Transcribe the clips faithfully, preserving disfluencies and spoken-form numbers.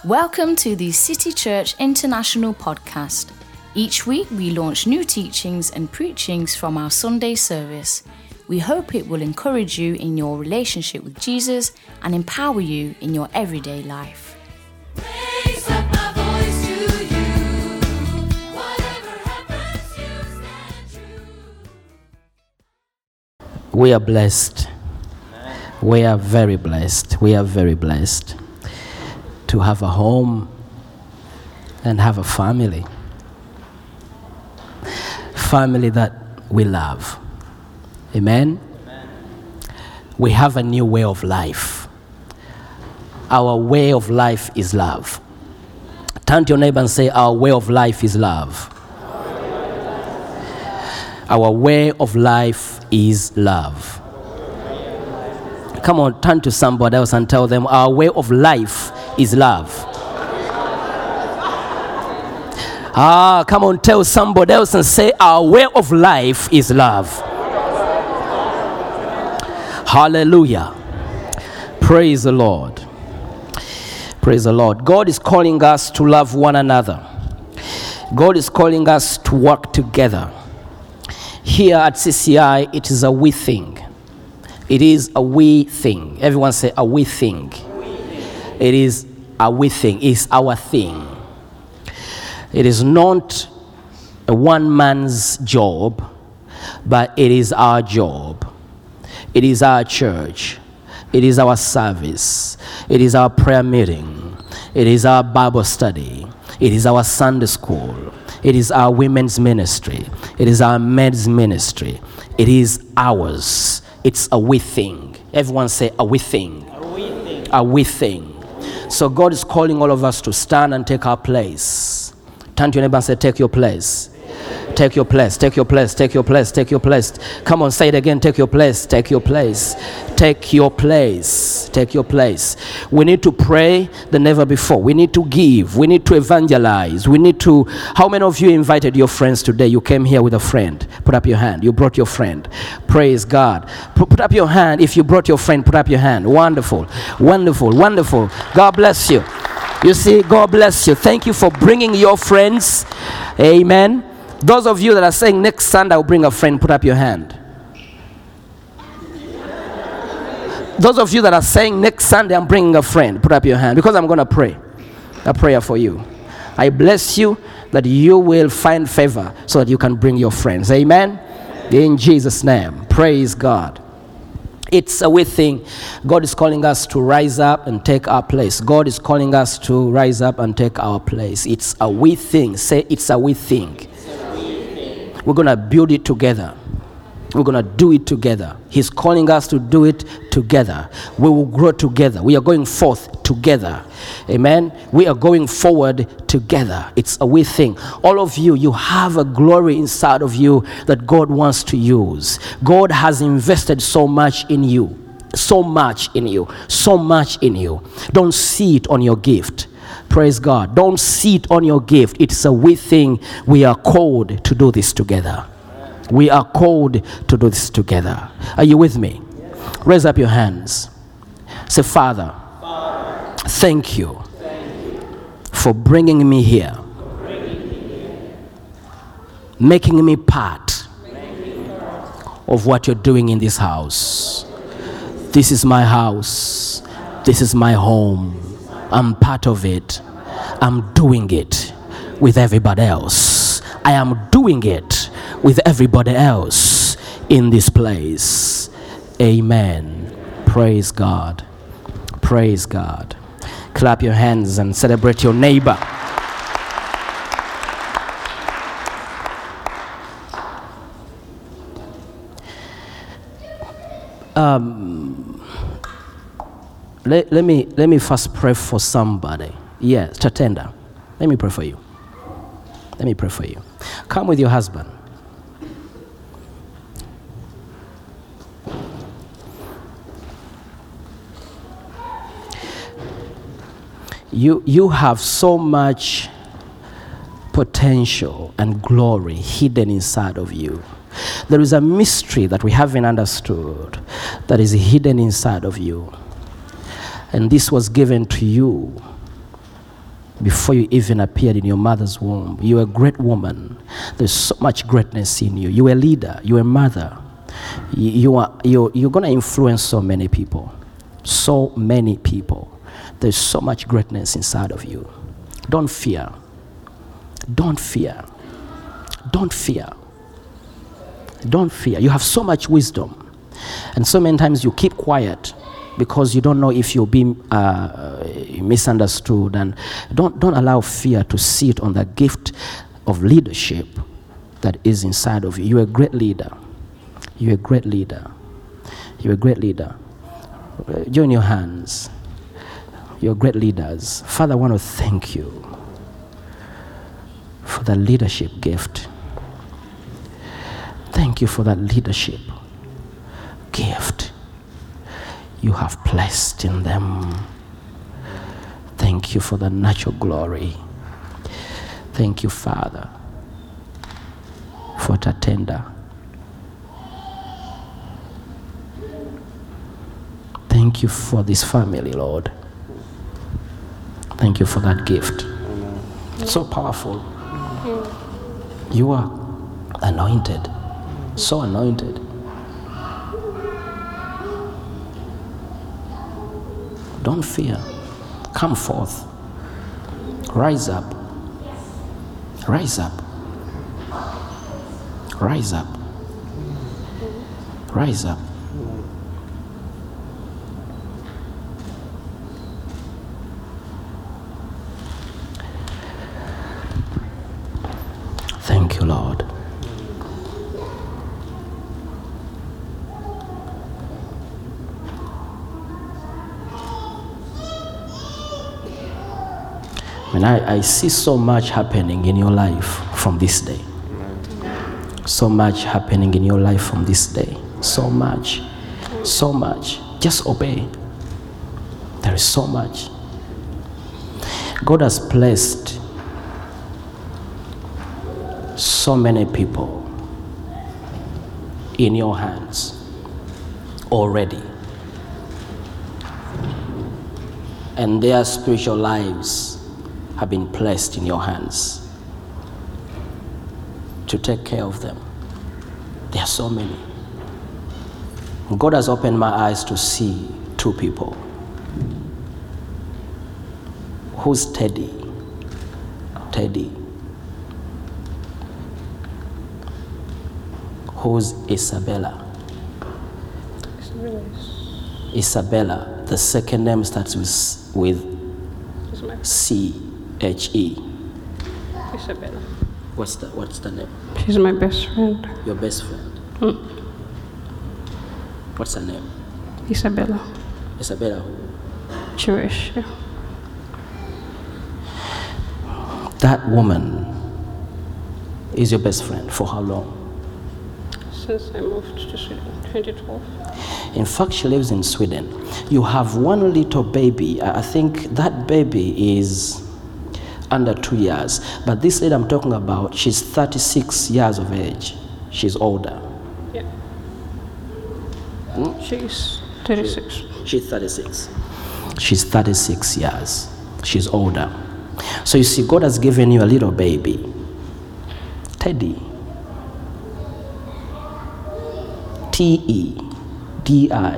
Welcome to the City Church International podcast. Each week we launch new teachings and preachings from our Sunday service. We hope it will encourage you in your relationship with Jesus and empower you in your everyday life. Raise up my voice to you. Whatever happens, you stand true. We are blessed. We are very blessed. We are very blessed to have a home and have a family. Family that we love. Amen? Amen. We have a new way of life. Our way of life is love. Turn to your neighbor and say, our way of life is love. Our way of life is love. Come on, turn to somebody else and tell them, our way of life is love. Ah, come on, tell somebody else and say, our way of life is love. Hallelujah. Praise the Lord. Praise the Lord. God is calling us to love one another. God is calling us to work together. Here at C C I, it is a we thing. It is a we thing. Everyone say a we thing. It is a we thing. It's our thing. It is not a one man's job, but it is our job. It is our church. It is our service. It is our prayer meeting. It is our Bible study. It is our Sunday school. It is our women's ministry. It is our men's ministry. It is ours. It's a we thing. Everyone say a we thing. A we thing. A we thing. So God is calling all of us to stand and take our place. Turn to your neighbor and say, take your place. Take your place, take your place, take your place, take your place. Come on, say it again. Take your place, take your place, take your place, take your place. We need to pray than never before. We need to give. We need to evangelize. We need to. How many of you invited your friends today? You came here with a friend. Put up your hand. You brought your friend. Praise God. Put, put up your hand. If you brought your friend, put up your hand. Wonderful, wonderful, wonderful. God bless you. You see, God bless you. Thank you for bringing your friends. Amen. Those of you that are saying next Sunday I'll bring a friend, put up your hand. Those of you that are saying next Sunday I'm bringing a friend, put up your hand, because I'm going to pray a prayer for you. I bless you that you will find favor so that you can bring your friends. Amen? In Jesus' name. Praise God. It's a we thing. God is calling us to rise up and take our place. God is calling us to rise up and take our place. It's a we thing. Say, it's a we thing. We're going to build it together. We're going to do it together. He's calling us to do it together. We will grow together. We are going forth together. Amen. We are going forward together. It's a we thing. All of you, you have a glory inside of you that God wants to use. God has invested so much in you. So much in you. So much in you. Don't see it on your gift. Praise God. Don't sit on your gift. It's a we thing. We are called to do this together. We are called to do this together. Are you with me? Yes. Raise up your hands. Say, Father, Father thank, you thank you for bringing me here, bringing me here. Making me part, making part of what you're doing in this house. This is my house. This is my home. I'm part of it. I'm doing it with everybody else. I am doing it with everybody else in this place. Amen. Praise God. Praise God. Clap your hands and celebrate your neighbor. Um... Let, let me let me first pray for somebody. Yes, Chatenda. Let me pray for you. Let me pray for you. Come with your husband. You you have so much potential and glory hidden inside of you. There is a mystery that we haven't understood that is hidden inside of you. And this was given to you before you even appeared in your mother's womb. You're a great woman. There's so much greatness in you. You're a leader. You're a mother. You, you are, you're, you're going to influence so many people. So many people. There's so much greatness inside of you. Don't fear. Don't fear. Don't fear. Don't fear. You have so much wisdom. And so many times you keep quiet because you don't know if you'll be uh, misunderstood. And don't, don't allow fear to sit on the gift of leadership that is inside of you. You're a great leader. You're a great leader. You're a great leader. Join your hands. You're great leaders. Father, I want to thank you for the leadership gift. Thank you for that leadership gift you have placed in them. Thank you for the natural glory. Thank you, Father, for Tatenda. Thank you for this family, Lord. Thank you for that gift. So powerful. You are anointed. So anointed. Don't fear. Come forth. Rise up. Rise up. Rise up. Rise up. Thank you, Lord. And I, I see so much happening in your life from this day. So much happening in your life from this day. So much. So much. Just obey. There is so much. God has placed so many people in your hands already. And their spiritual lives have been placed in your hands to take care of them. There are so many. God has opened my eyes to see two people. Who's Teddy? Teddy. Who's Isabella? Isabella. The second name starts with, with C H E. Isabella. What's the, what's the name? She's my best friend. Your best friend. Mm. What's her name? Isabella. Isabella who? Jewish. Yeah. That woman is your best friend for how long? Since I moved to Sweden, twenty twelve. In fact, she lives in Sweden. You have one little baby. I I think that baby is under two years. But this lady I'm talking about, she's thirty-six years of age. She's older. Yeah. Hmm? She's thirty-six. She's thirty-six. She's thirty-six years. She's older. So you see, God has given you a little baby, Teddy. T E D I.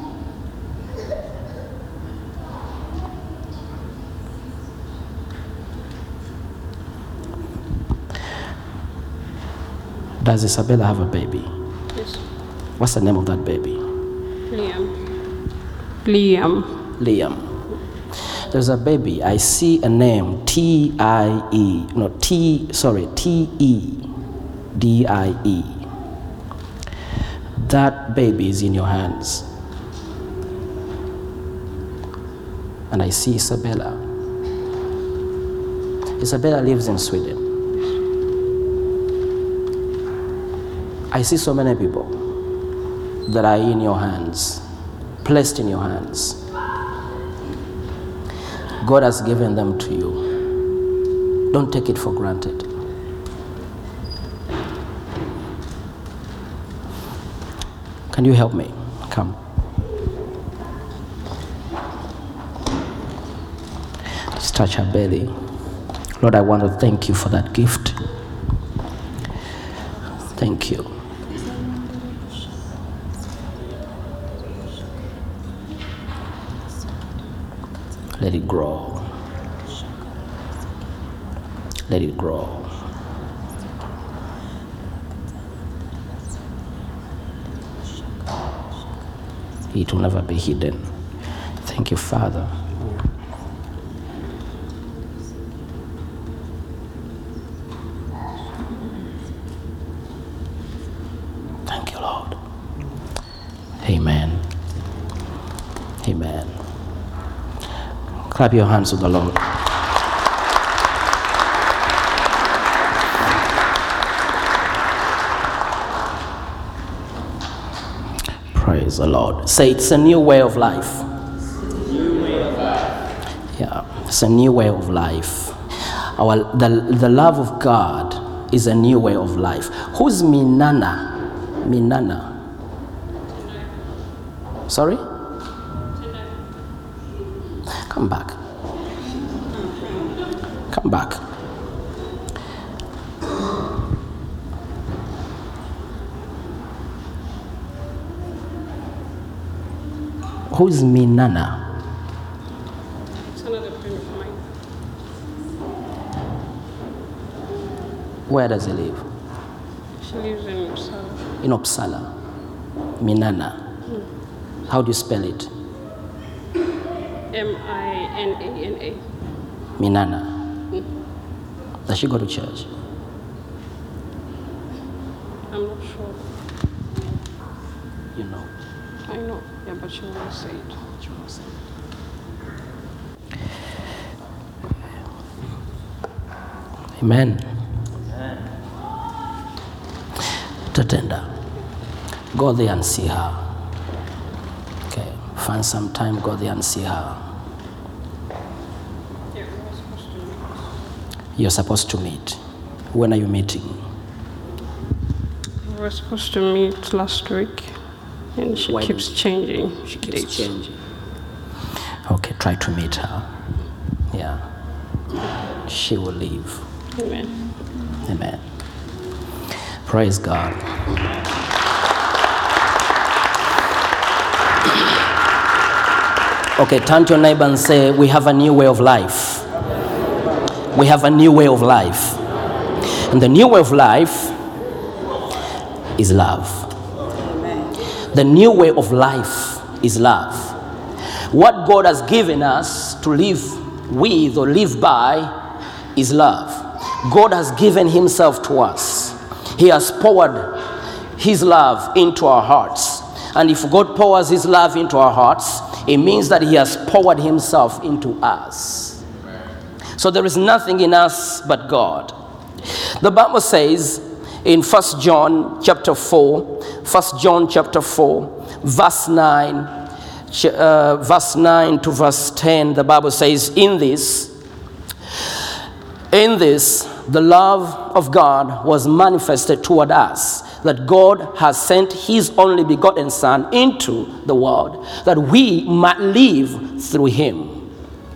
Does Isabella have a baby? Yes. What's the name of that baby? Liam. Liam. Liam. There's a baby. I see a name. T I E. No, T, sorry, T E D I E. That baby is in your hands. And I see Isabella. Isabella lives in Sweden. I see so many people that are in your hands, placed in your hands. God has given them to you. Don't take it for granted. Can you help me? Come. Just touch her belly. Lord, I want to thank you for that gift. Thank you. Let it grow. Let it grow. It will never be hidden. Thank you, Father. Thank you, Lord. Amen. Amen. Clap your hands to the Lord. Praise the Lord. Say it's a new way of life. New way of life. Yeah, it's a new way of life. Our the, the love of God is a new way of life. Who's Minana? Minana. Sorry? Come back. Come back. Who's Minana? It's another friend of mine. Where does he live? She lives in Uppsala. In Uppsala. Minana. How do you spell it? M I N A N A. Minana. Does she go to church? I'm not sure. You know. I know. Yeah, but she won't say it. Amen. Tatenda. Go there and see her. Okay. Find some time, go there and see her. Yeah, we were supposed to meet. You're supposed to meet. When are you meeting? We were supposed to meet last week, and she Why keeps did- changing. She keeps dates. changing. Okay, try to meet her. Yeah. She will leave. Amen. Amen. Praise God. Okay, turn to your neighbor and say, we have a new way of life. We have a new way of life. And the new way of life is love. The new way of life is love. What God has given us to live with or live by is love. God has given himself to us. He has poured his love into our hearts. And if God pours his love into our hearts, it means that he has poured himself into us. So there is nothing in us but God. The Bible says in First John chapter four, First John chapter four, verse nine, ch- uh, verse nine to verse ten, the Bible says, in this, in this, the love of God was manifested toward us, that God has sent his only begotten Son into the world, that we might live through him.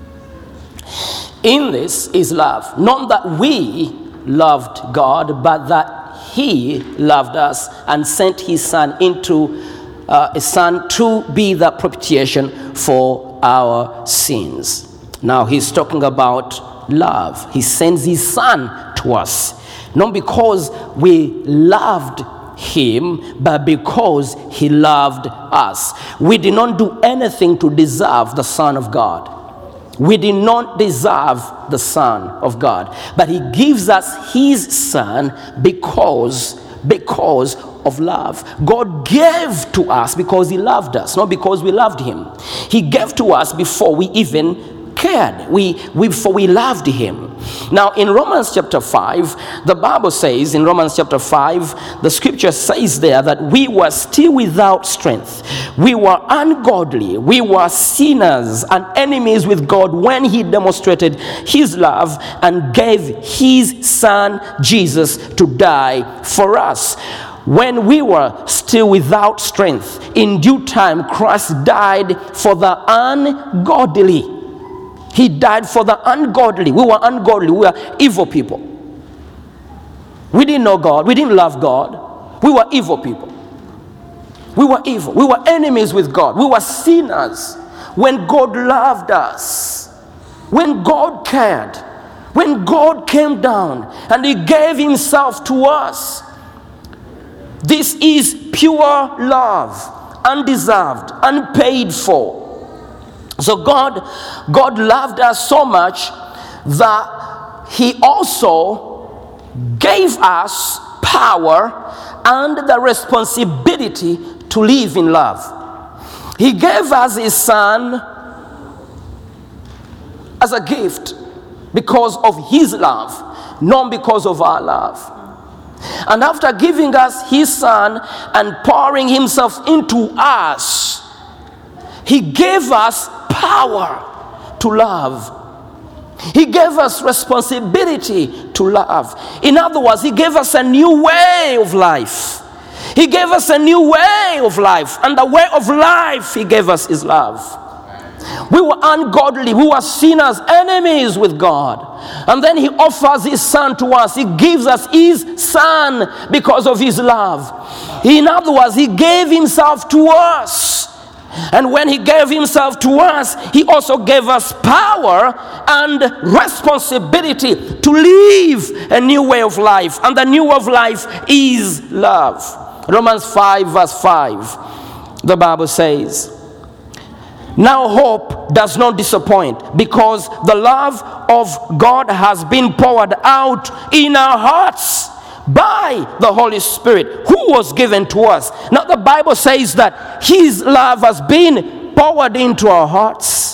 In this is love, not that we loved God, but that he loved us and sent his Son into uh, a Son to be the propitiation for our sins. Now he's talking about love. He sends his Son to us, not because we loved him, but because he loved us. We did not do anything to deserve the Son of God. We did not deserve the Son of God, but he gives us his Son because, because of love. God gave to us because he loved us, not because we loved him. He gave to us before we even cared. We, we before we loved him. Now in Romans chapter five, the Bible says in Romans chapter five, the scripture says there that we were still without strength. We were ungodly. We were sinners and enemies with God when he demonstrated his love and gave his Son Jesus to die for us. When we were still without strength, in due time Christ died for the ungodly. He died for the ungodly. We were ungodly. We were evil people. We didn't know God. We didn't love God. We were evil people. We were evil. We were enemies with God. We were sinners. When God loved us, when God cared, when God came down and He gave Himself to us, this is pure love, undeserved, unpaid for. So God, God loved us so much that He also gave us power and the responsibility to live in love. He gave us His Son as a gift because of His love, not because of our love. And after giving us His Son and pouring Himself into us, He gave us power to love. He gave us responsibility to love. In other words, He gave us a new way of life. He gave us a new way of life. And the way of life He gave us is love. We were ungodly. We were sinners, enemies with God. And then He offers His Son to us. He gives us His Son because of His love. In other words, He gave Himself to us. And when He gave Himself to us, He also gave us power and responsibility to live a new way of life. And the new way of life is love. Romans five verse five, the Bible says, now hope does not disappoint, because the love of God has been poured out in our hearts by the Holy Spirit who was given to us. Now the Bible says that His love has been poured into our hearts.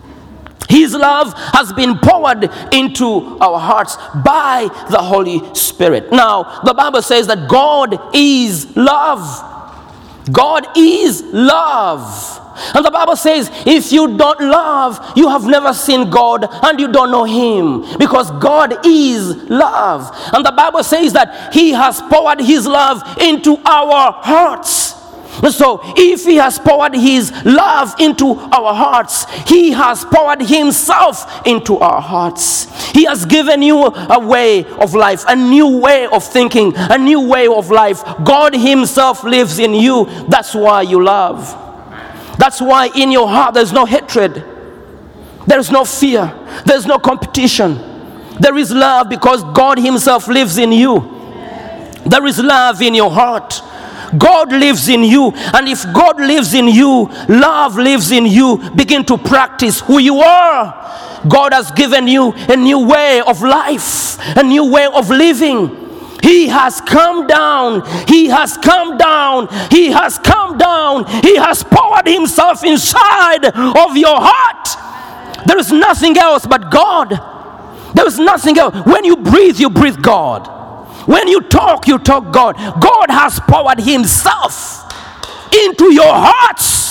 His love has been poured into our hearts by the Holy Spirit. Now the Bible says that God is love. God is love. And the Bible says, if you don't love, you have never seen God and you don't know Him, because God is love. And the Bible says that He has poured His love into our hearts. So if He has poured His love into our hearts, He has poured Himself into our hearts. He has given you a way of life, a new way of thinking, a new way of life. God Himself lives in you. That's why you love. That's why in your heart there's no hatred. There's no fear. There's no competition. There is love because God Himself lives in you. There is love in your heart. God lives in you. And if God lives in you, love lives in you. Begin to practice who you are. God has given you a new way of life, a new way of living. He has come down. He has come down. He has come down. He has poured Himself inside of your heart. There is nothing else but God. There is nothing else. When you breathe, you breathe God. When you talk, you talk God. God has poured Himself into your hearts.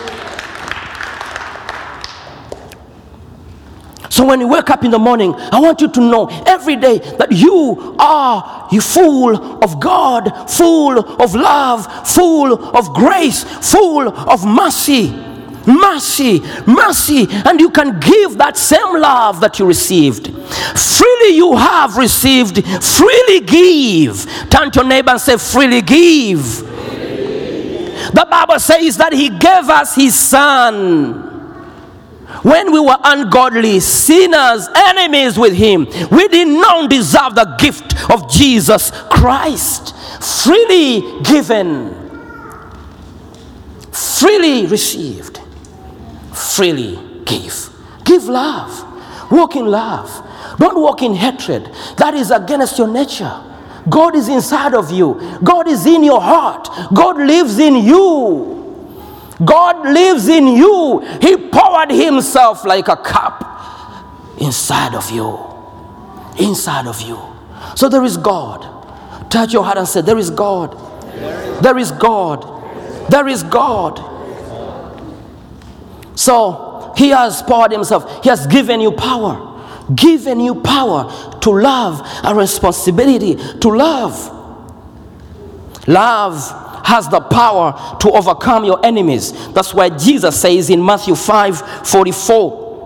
So when you wake up in the morning, I want you to know every day that you are you full of God, full of love, full of grace, full of mercy. Mercy, mercy, and you can give that same love that you received. Freely you have received, freely give. Turn to your neighbor and say, freely give. The Bible says that He gave us His Son. When we were ungodly, sinners, enemies with Him, we did not deserve the gift of Jesus Christ. Freely given, freely received, freely give. Give love. Walk in love. Don't walk in hatred. That is against your nature. God is inside of you. God is in your heart. God lives in you. God lives in you. He poured Himself like a cup inside of you. Inside of you. So there is God. Touch your heart and say, there is God. There is God. There is God. So He has poured Himself. He has given you power. Given you power to love, a responsibility to love. Love has the power to overcome your enemies. That's why Jesus says in Matthew five forty-four,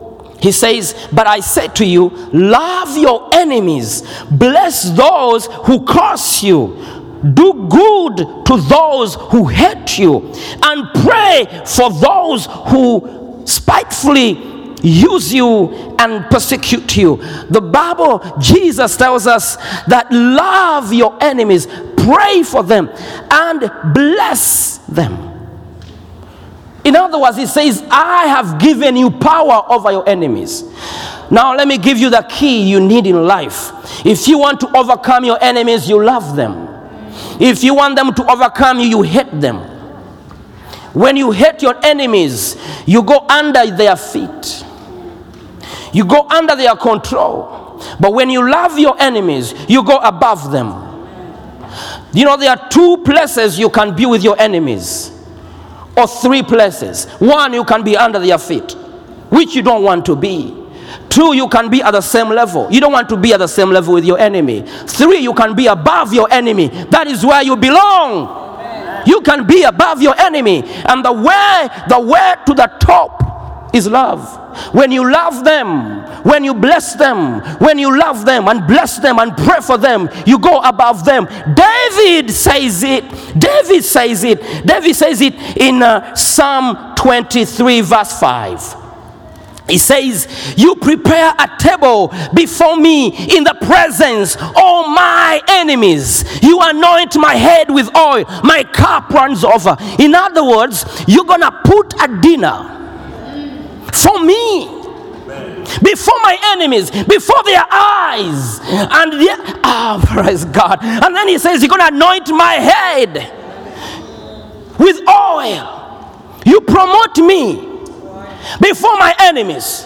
He says, but I say to you, love your enemies, bless those who curse you, do good to those who hate you, and pray for those who spitefully use you and persecute you. The Bible, Jesus tells us that love your enemies, pray for them, and bless them. In other words, he says, I have given you power over your enemies. Now let me give you the key you need in life. If you want to overcome your enemies, you love them. If you want them to overcome you, you hate them. When you hate your enemies, you go under their feet. You go under their control. But when you love your enemies, you go above them. You know, there are two places you can be with your enemies. Or three places. One, you can be under their feet, which you don't want to be. Two, you can be at the same level. You don't want to be at the same level with your enemy. Three, you can be above your enemy. That is where you belong. Amen. You can be above your enemy. And the way, the way to the top is love. When you love them, when you bless them, when you love them and bless them and pray for them, you go above them. David says it. David says it. David says it in uh, Psalm twenty-three verse five. He says, you prepare a table before me in the presence of my enemies. You anoint my head with oil. My cup runs over. In other words, you're going to put a dinner for me before my enemies, before their eyes. And their, oh, praise God. And then he says, you're going to anoint my head with oil. You promote me before my enemies.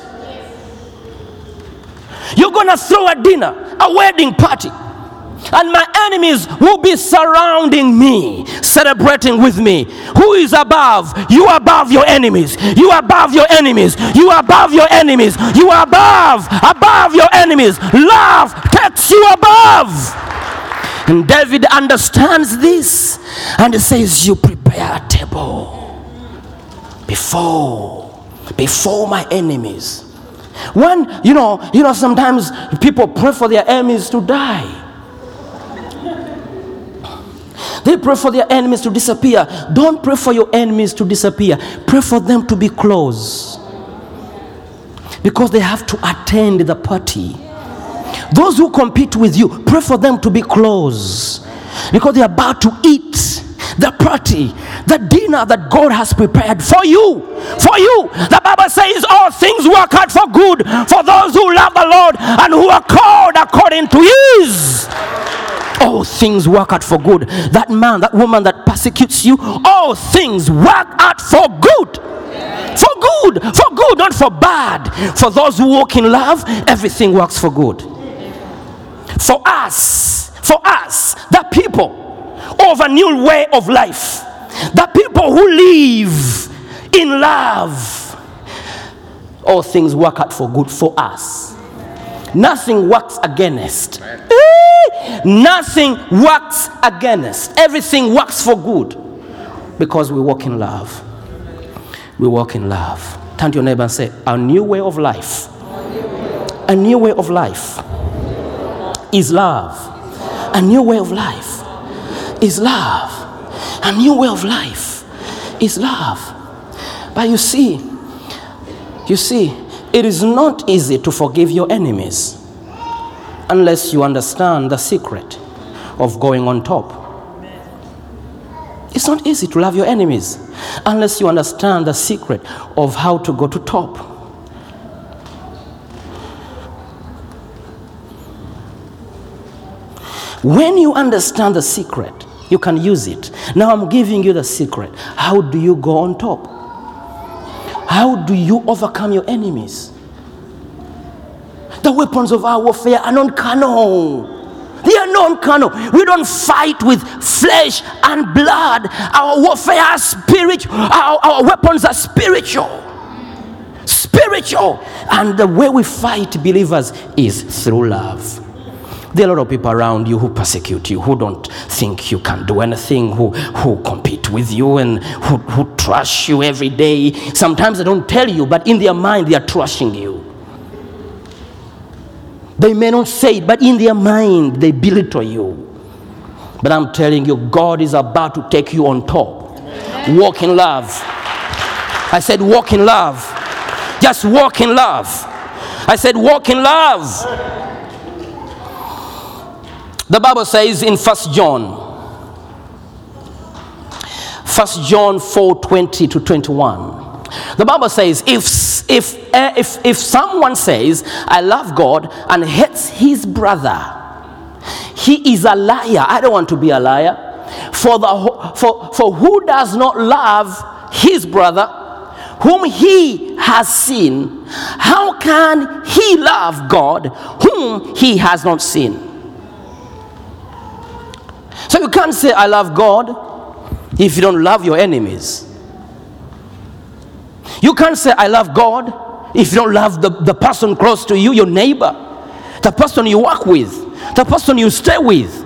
You're going to throw a dinner, a wedding party, and my enemies will be surrounding me, celebrating with me. Who is above? You are above your enemies. You are above your enemies. You are above your enemies. You are above, above your enemies. Love takes you above. And David understands this, and he says, you prepare a table before before my enemies. When, you know, you know, sometimes people pray for their enemies to die. They pray for their enemies to disappear. Don't pray for your enemies to disappear. Pray for them to be close. Because they have to attend the party. Those who compete with you, pray for them to be close. Because they're about to eat the party, the dinner that God has prepared for you. For you. The Bible says all things work out for good for those who love the Lord and who are called according to His. All things work out for good. That man, that woman that persecutes you, all things work out for good. For good. For good, not for bad. For those who walk in love, everything works for good. For us, for us, the people of a new way of life, the people who live in love, all things work out for good for us. Nothing works against. Nothing works against. Everything works for good because we walk in love. We walk in love. Turn to your neighbor and say, a new way of life. A new way of life is love. A new way of life is love. A new way of life is love. But you see, you see, it is not easy to forgive your enemies unless you understand the secret of going on top. It's not easy to love your enemies unless you understand the secret of how to go to top. When you understand the secret, you can use it. Now I'm giving you the secret. How do you go on top? How do you overcome your enemies? The weapons of our warfare are non-carnal. They are non-carnal. We don't fight with flesh and blood. Our warfare is spiritual. Our, our weapons are spiritual. Spiritual. And the way we fight believers is through love. There are a lot of people around you who persecute you, who don't think you can do anything, who, who compete with you and who, who trash you every day. Sometimes they don't tell you, but in their mind they are trashing you. They may not say it, but in their mind, they belittle you. But I'm telling you, God is about to take you on top. Walk in love. I said, walk in love. Just walk in love. I said, walk in love. The Bible says in First John, First John four twenty to twenty-one. The Bible says, if if uh, if if someone says, I love God and hates his brother, he is a liar. I don't want to be a liar. For the for for who does not love his brother, whom he has seen, how can he love God, whom he has not seen? So you can't say, I love God, if you don't love your enemies. You can't say, I love God, if you don't love the, the person close to you, your neighbor, the person you work with, the person you stay with.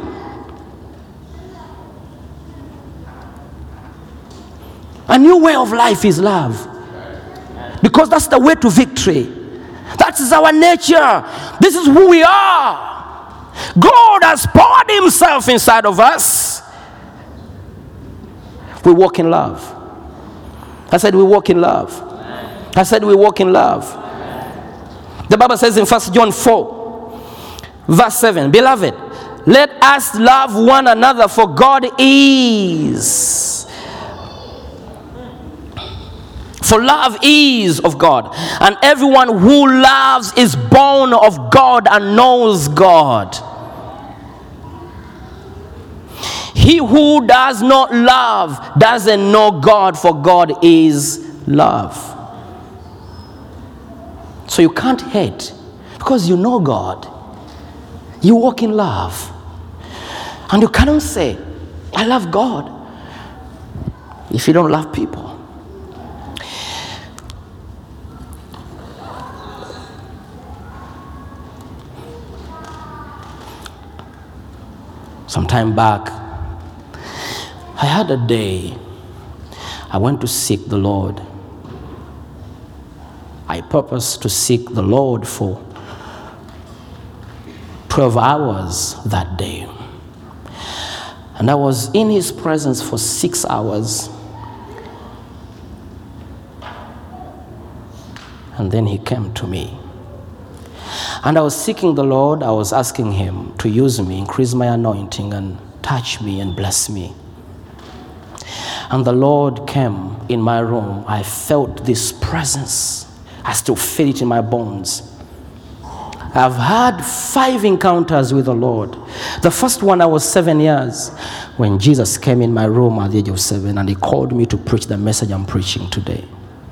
A new way of life is love. Because that's the way to victory. That is our nature. This is who we are. God has poured himself inside of us. We walk in love. I said we walk in love. I said we walk in love. The Bible says in First John four, verse seven, beloved, let us love one another, for God is. For love is of God, and everyone who loves is born of God and knows God. He who does not love doesn't know God, for God is love. So you can't hate because you know God. You walk in love. And you cannot say, I love God, if you don't love people. Some time back, I had a day I went to seek the Lord. I purposed to seek the Lord for twelve hours that day. And I was in his presence for six hours. And then he came to me. And I was seeking the Lord. I was asking him to use me, increase my anointing, and touch me and bless me. And the Lord came in my room. I felt this presence. I still feel it in my bones. I've had five encounters with the Lord. The first one, I was seven years when Jesus came in my room at the age of seven, and he called me to preach the message I'm preaching today.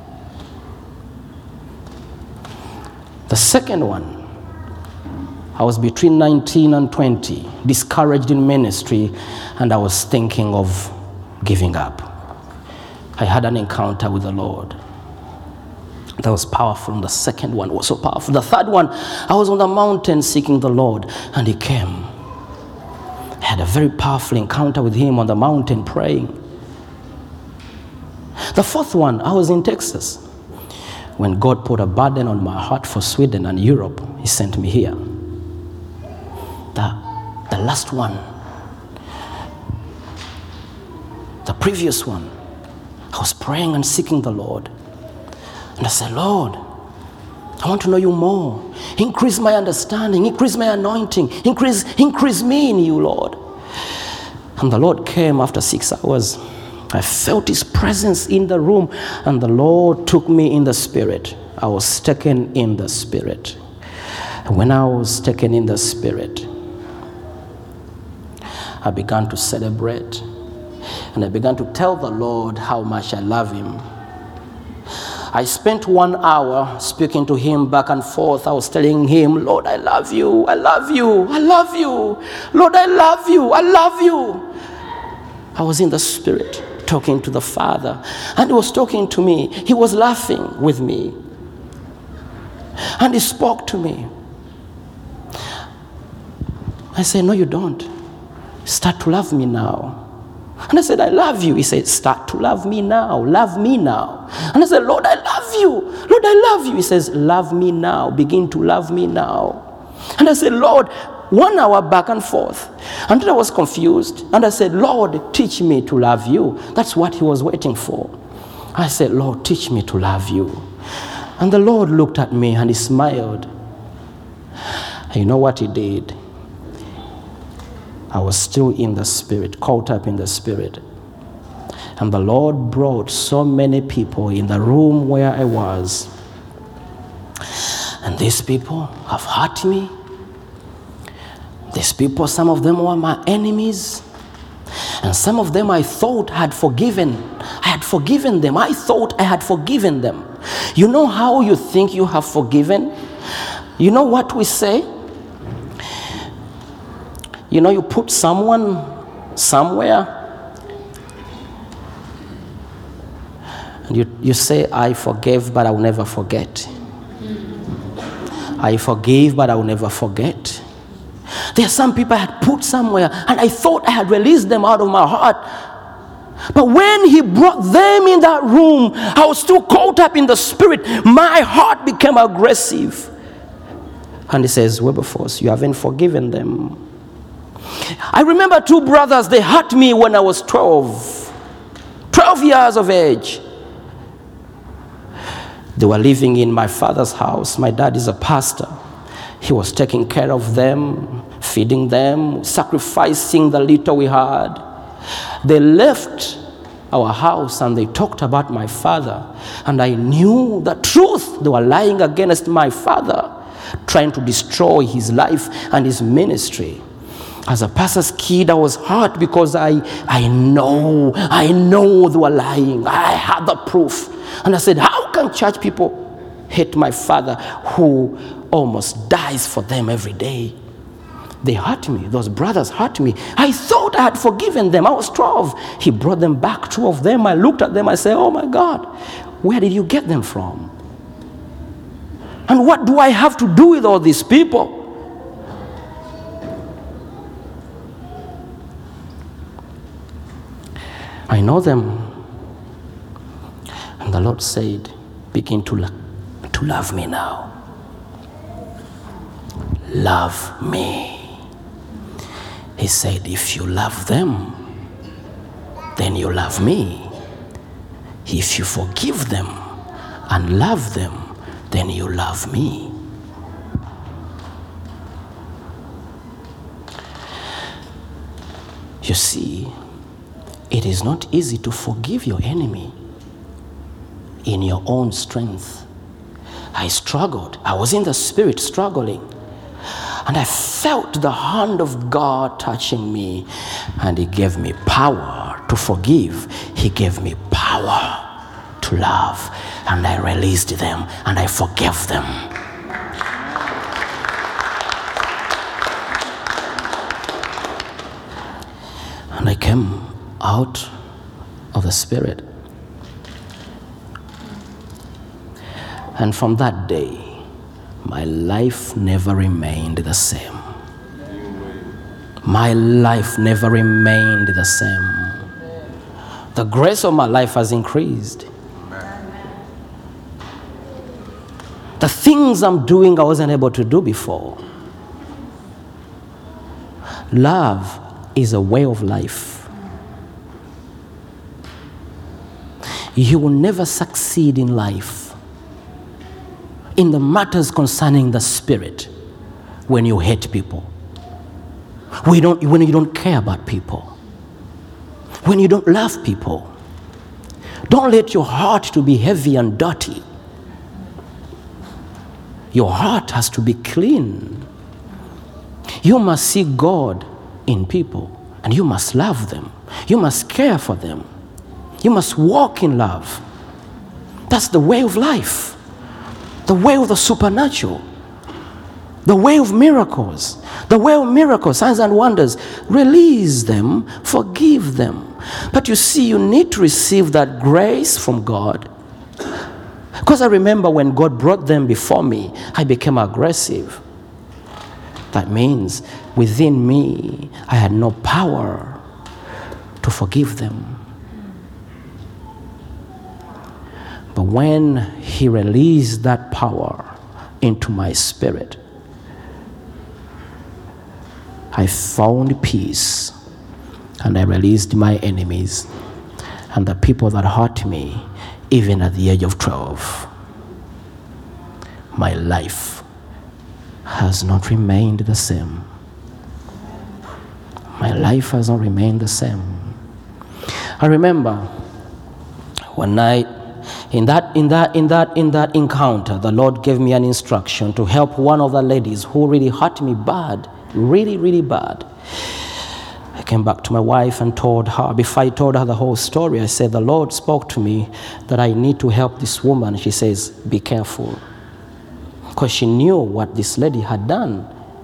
The second one, I was between nineteen and twenty, discouraged in ministry, and I was thinking of giving up. I had an encounter with the Lord. That was powerful. And the second one was so powerful. The third one, I was on the mountain seeking the Lord, and he came. I had a very powerful encounter with him on the mountain praying. The fourth one, I was in Texas. When God put a burden on my heart for Sweden and Europe, he sent me here. The, the last one, the previous one, I was praying and seeking the Lord. And I said, Lord, I want to know you more. Increase my understanding, increase my anointing, increase, increase me in you, Lord. And the Lord came after six hours. I felt his presence in the room, and the Lord took me in the spirit. I was taken in the spirit. And when I was taken in the spirit, I began to celebrate, and I began to tell the Lord how much I love him. I spent one hour speaking to him back and forth. I was telling him, Lord, I love you, I love you, I love you. Lord, I love you, I love you. I was in the spirit talking to the Father, and he was talking to me. He was laughing with me, and he spoke to me. I said, no, you don't. Start to love me now. And I said, I love you. He said, start to love me now. Love me now. And I said, Lord, I love you. Lord, I love you. He says, love me now. Begin to love me now. And I said, Lord, one hour back and forth. And then I was confused. And I said, Lord, teach me to love you. That's what he was waiting for. I said, Lord, teach me to love you. And the Lord looked at me and he smiled. And you know what he did? I was still in the spirit, caught up in the spirit. And the Lord brought so many people in the room where I was. And these people have hurt me. These people, some of them were my enemies. And some of them I thought I had forgiven. I had forgiven them. I thought I had forgiven them. You know how you think you have forgiven? You know what we say? You know, you put someone somewhere and you, you say, I forgave, but I will never forget. I forgave, but I will never forget. There are some people I had put somewhere and I thought I had released them out of my heart. But when he brought them in that room, I was still caught up in the spirit. My heart became aggressive. And he says, Wilberforce, you haven't forgiven them. I remember two brothers, they hurt me when I was twelve. twelve years of age. They were living in my father's house. My dad is a pastor. He was taking care of them, feeding them, sacrificing the little we had. They left our house and they talked about my father. And I knew the truth. They were lying against my father, trying to destroy his life and his ministry. As a pastor's kid, I was hurt because I, I know, I know they were lying. I had the proof. And I said, how can church people hate my father who almost dies for them every day? They hurt me. Those brothers hurt me. I thought I had forgiven them. I was twelve. He brought them back, two of them. I looked at them. I said, oh my God, where did you get them from? And what do I have to do with all these people? I know them. And the Lord said, begin to, lo- to love me now. Love me. He said, if you love them, then you love me. If you forgive them and love them, then you love me. You see, it is not easy to forgive your enemy in your own strength. I struggled. I was in the spirit struggling. And I felt the hand of God touching me. And he gave me power to forgive. He gave me power to love. And I released them and I forgave them. And I came out of the spirit. And from that day, my life never remained the same. My life never remained the same. The grace of my life has increased. The things I'm doing I wasn't able to do before. Love is a way of life. You will never succeed in life in the matters concerning the spirit when you hate people, when you don't, when you don't care about people, when you don't love people. Don't let your heart to be heavy and dirty. Your heart has to be clean. You must see God in people and you must love them. You must care for them. You must walk in love. That's the way of life. The way of the supernatural. The way of miracles. The way of miracles, signs and wonders. Release them, forgive them. But you see, you need to receive that grace from God. Because I remember when God brought them before me, I became aggressive. That means within me, I had no power to forgive them. But when he released that power into my spirit, I found peace, and I released my enemies and the people that hurt me, even at the age of twelve. My life has not remained the same. My life has not remained the same. I remember one night, in that, in that, in that, in that encounter, the Lord gave me an instruction to help one of the ladies who really hurt me bad, really, really bad. I came back to my wife and told her, before I told her the whole story, I said, the Lord spoke to me that I need to help this woman. She says, be careful. Because she knew what this lady had done.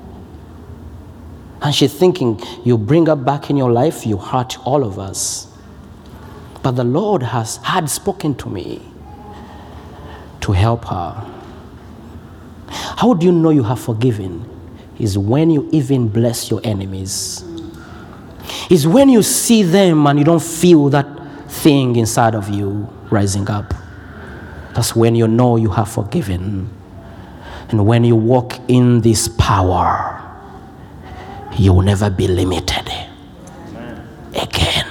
And she's thinking, you bring her back in your life, you hurt all of us. But the Lord has had spoken to me to help her. How do you know you have forgiven? Is when you even bless your enemies. Is when you see them and you don't feel that thing inside of you rising up. That's when you know you have forgiven. And when you walk in this power, you will never be limited again.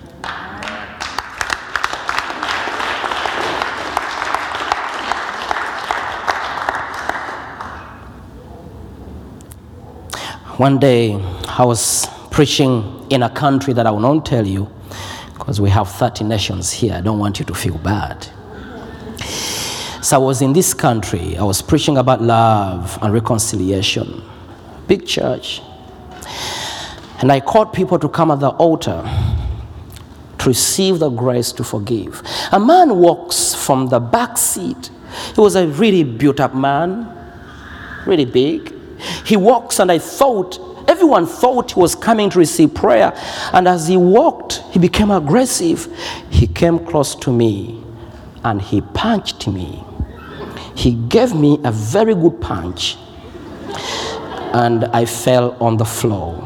One day, I was preaching in a country that I will not tell you, because we have thirty nations here. I don't want you to feel bad. So I was in this country. I was preaching about love and reconciliation. Big church. And I called people to come at the altar to receive the grace to forgive. A man walks from the back seat. He was a really built up man, really big. He walks, and I thought, everyone thought he was coming to receive prayer. And as he walked, he became aggressive. He came close to me and he punched me. He gave me a very good punch, and I fell on the floor.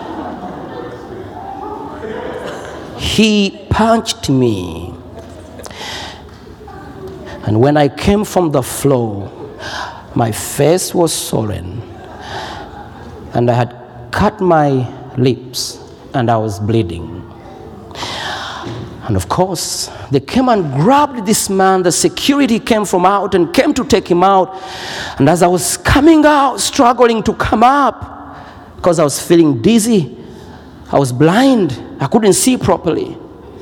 He punched me. And when I came from the floor, my face was swollen, and I had cut my lips, and I was bleeding. And of course, they came and grabbed this man. The security came from out and came to take him out. And as I was coming out, struggling to come up, because I was feeling dizzy, I was blind, I couldn't see properly.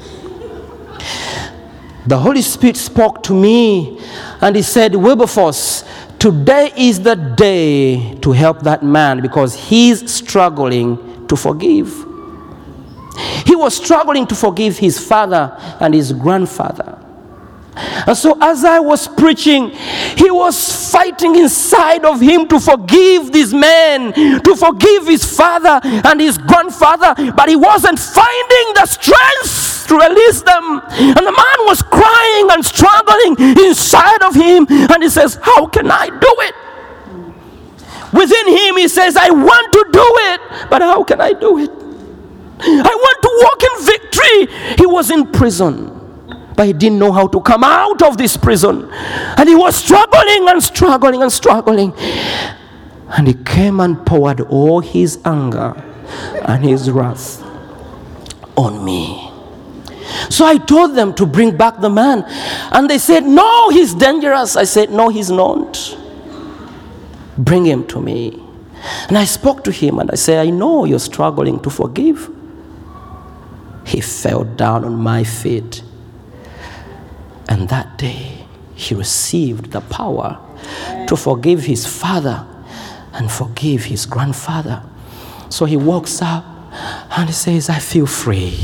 The Holy Spirit spoke to me, and he said, Wilberforce, today is the day to help that man, because he's struggling to forgive. He was struggling to forgive his father and his grandfather. And so as I was preaching, he was fighting inside of him to forgive this man, to forgive his father and his grandfather, but he wasn't finding the strength to release them. And the man was crying and struggling inside of him, and he says, how can I do it? Within him, he says, I want to do it, but how can I do it? I want to walk in victory. He was in prison, but he didn't know how to come out of this prison. And he was struggling and struggling and struggling. And he came and poured all his anger and his wrath on me. So I told them to bring back the man. And they said, no, he's dangerous. I said, no, he's not. Bring him to me. And I spoke to him and I said, I know you're struggling to forgive. He fell down on my feet. And that day, he received the power to forgive his father and forgive his grandfather. So he walks up and he says, I feel free.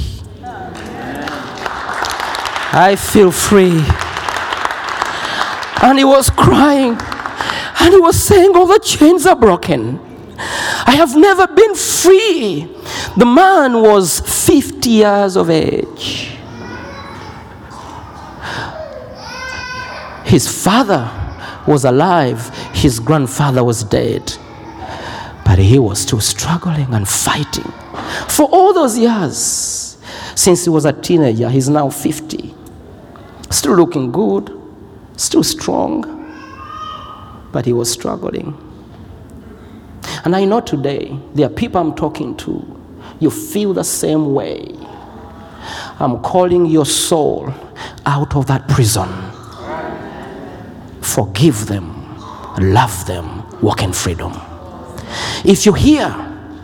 I feel free. And he was crying. And he was saying, all the chains are broken. I have never been free. The man was fifty years of age. His father was alive. His grandfather was dead. But he was still struggling and fighting. For all those years, since he was a teenager, he's now fifty. Still looking good, still strong, but he was struggling. And I know today there are people I'm talking to. You feel the same way. I'm calling your soul out of that prison. Forgive them, love them, walk in freedom. If you're here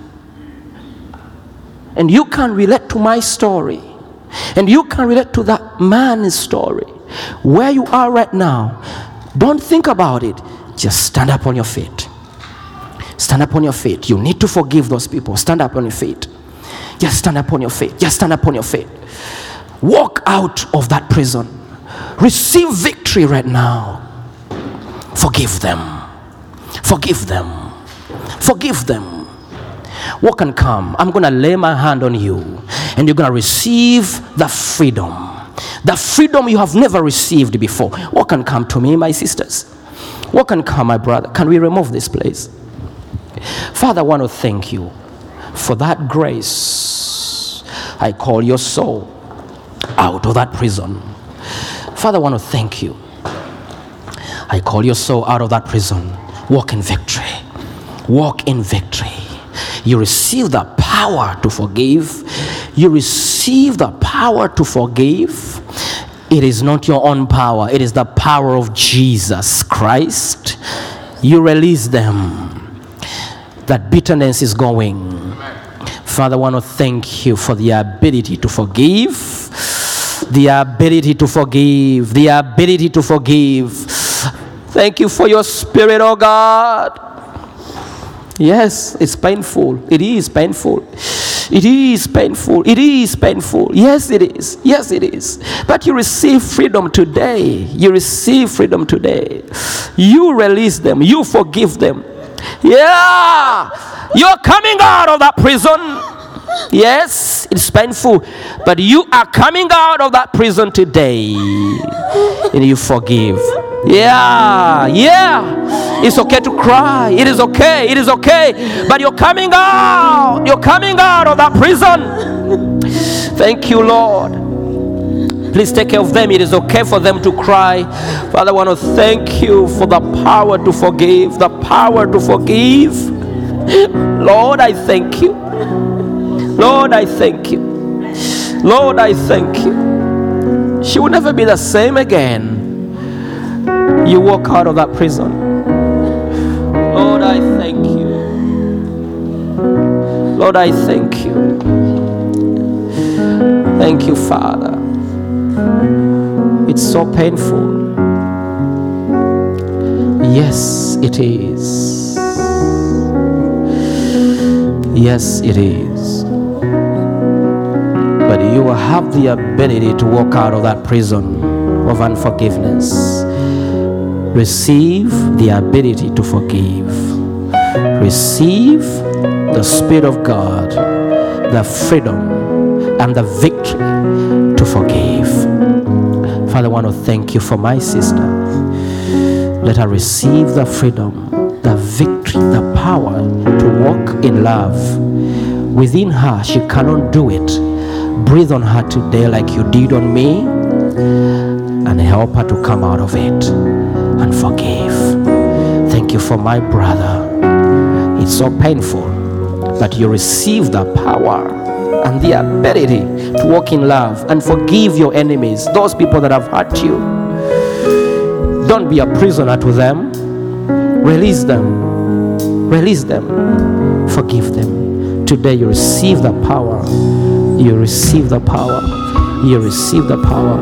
and you can relate to my story, and you can relate to that man's story, where you are right now, don't think about it. Just stand up on your feet. Stand up on your feet. You need to forgive those people. Stand up on your feet. Just stand up on your feet. Just stand up on your feet. Walk out of that prison. Receive victory right now. Forgive them. Forgive them. Forgive them. Walk and come. I'm going to lay my hand on you, and you're going to receive the freedom. The freedom you have never received before. Walk and come to me, my sisters. Walk and come, my brother. Can we remove this, please? Father, I want to thank you for that grace. I call your soul out of that prison. Father, I want to thank you. I call your soul out of that prison. Walk in victory. Walk in victory. You receive the power to forgive. You receive the power to forgive. It is not your own power. It is the power of Jesus Christ. You release them. That bitterness is going. Father, I want to thank you for the ability to forgive. The ability to forgive. The ability to forgive. Thank you for your spirit, oh God. Yes, it's painful. It is painful. It is painful. It is painful. Yes, it is. Yes, it is. But you receive freedom today. You receive freedom today. You release them. You forgive them. Yeah. You're coming out of that prison. Yes, it's painful. But you are coming out of that prison today. And you forgive. Yeah, yeah. It's okay to cry. It is okay. It is okay. But you're coming out. You're coming out of that prison. Thank you, Lord. Please take care of them. It is okay for them to cry. Father, I want to thank you for the power to forgive. The power to forgive. Lord, I thank you. Lord, I thank you. Lord, I thank you. She will never be the same again. You walk out of that prison. Lord, I thank you. Lord, I thank you. Thank you, Father. It's so painful. Yes, it is. Yes, it is. But you will have the ability to walk out of that prison of unforgiveness. Receive the ability to forgive. Receive the Spirit of God, the freedom and the victory to forgive. Father, I want to thank you for my sister. Let her receive the freedom, the victory, the power to walk in love. Within her, she cannot do it. Breathe on her today like you did on me, and help her to come out of it and forgive. Thank you for my brother. It's so painful, but you receive the power and the ability to walk in love and forgive your enemies, those people that have hurt you. Don't be a prisoner to them. Release them. Release them. Forgive them. Today you receive the power. You receive the power. You receive the power.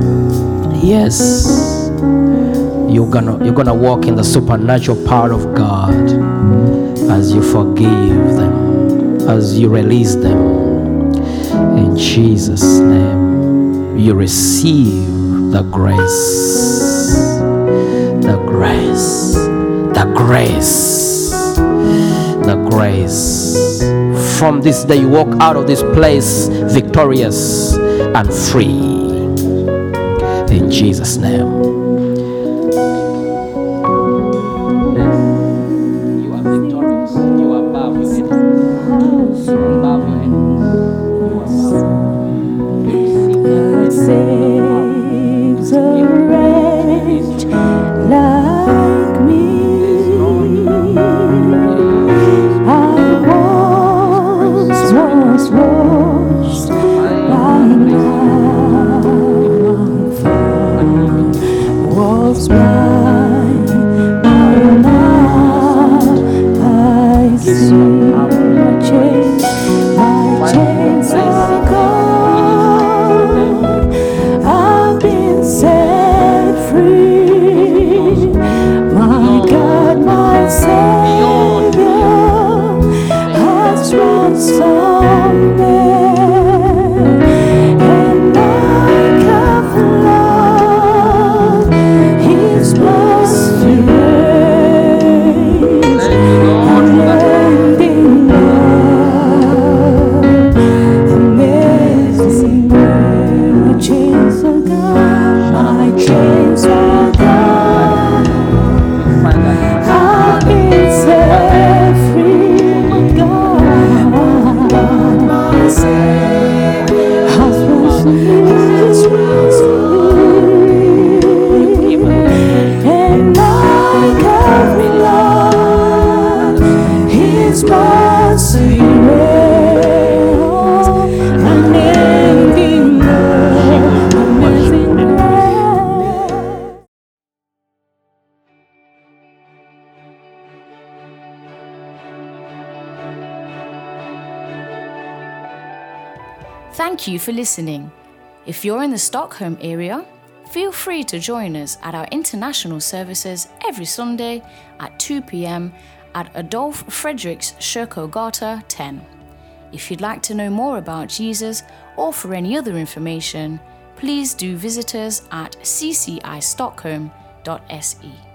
Yes. You're gonna you're gonna walk in the supernatural power of God as you forgive them, as you release them. In Jesus' name, you receive the grace. The grace. The grace. The grace. From this day, you walk out of this place victorious and free. In Jesus' name. You are victorious. You are above your enemies. You are above your enemies. You are above. Saves a wretch like me. chains are gone, my chains are gone. I've been set free, God. My Savior has risen, and my Calvary Lord, His mercy reigns, unending love, amazing grace. Thank you for listening. If you're in the Stockholm area, feel free to join us at our international services every Sunday at two p.m. at Adolf Fredriks Kyrkogata ten. If you'd like to know more about Jesus or for any other information, please do visit us at c c i stockholm dot s e.